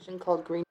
called green.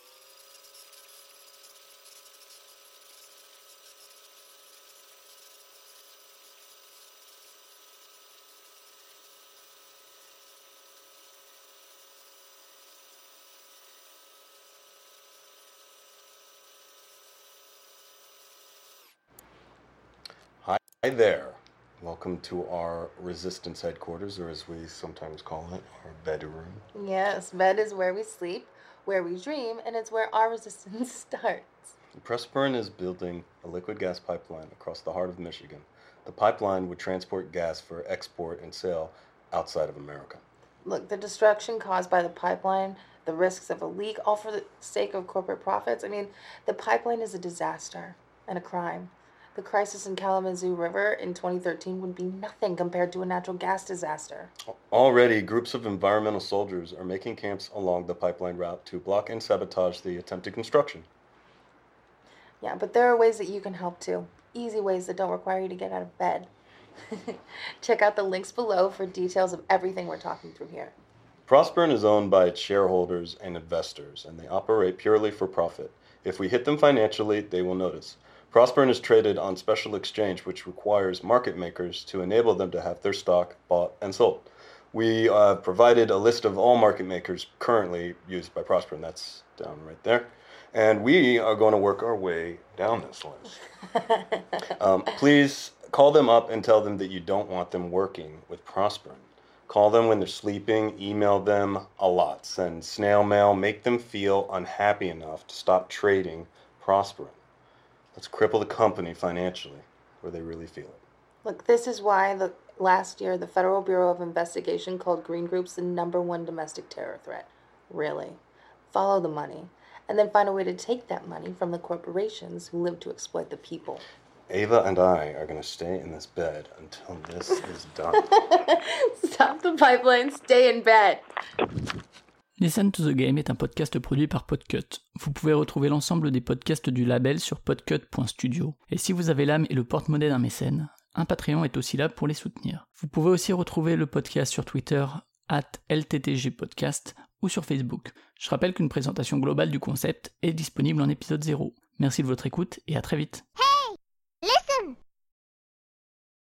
Hi there. Welcome to our resistance headquarters, or as we sometimes call it, our bedroom. Yes, bed is where we sleep, where we dream, and it's where our resistance starts. Pressburn is building a liquid gas pipeline across the heart of Michigan. The pipeline would transport gas for export and sale outside of America. Look, the destruction caused by the pipeline, the risks of a leak, all for the sake of corporate profits. I mean, the pipeline is a disaster and a crime. The crisis in Kalamazoo River in 2013 would be nothing compared to a natural gas disaster. Already, groups of environmental soldiers are making camps along the pipeline route to block and sabotage the attempted construction. Yeah, but there are ways that you can help too. Easy ways that don't require you to get out of bed. Check out the links below for details of everything we're talking through here. Prospern is owned by its shareholders and investors, and they operate purely for profit. If we hit them financially, they will notice. Prospern is traded on special exchange, which requires market makers to enable them to have their stock bought and sold. We provided a list of all market makers currently used by Prospern. That's down right there. And we are going to work our way down this list. Please call them up and tell them that you don't want them working with Prospern. Call them when they're sleeping, email them a lot, send snail mail, make them feel unhappy enough to stop trading Prospern. Let's cripple the company financially where they really feel it. Look, this is why last year the Federal Bureau of Investigation called green groups the #1 domestic terror threat. Really. Follow the money, and then find a way to take that money from the corporations who live to exploit the people. Ava and I are going to stay in this bed until this is done. Stop the pipeline, stay in bed. Listen to the Game est un podcast produit par Podcut. Vous pouvez retrouver l'ensemble des podcasts du label sur podcut.studio. Et si vous avez l'âme et le porte-monnaie d'un mécène, un Patreon est aussi là pour les soutenir. Vous pouvez aussi retrouver le podcast sur Twitter @LTTGpodcast ou sur Facebook. Je rappelle qu'une présentation globale du concept est disponible en épisode 0. Merci de votre écoute et à très vite.